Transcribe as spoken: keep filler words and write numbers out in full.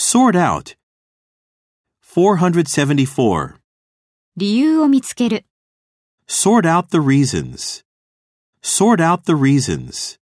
Sort out. four hundred seventy-four. 理由を見つける。 Sort out the reasons. Sort out the reasons.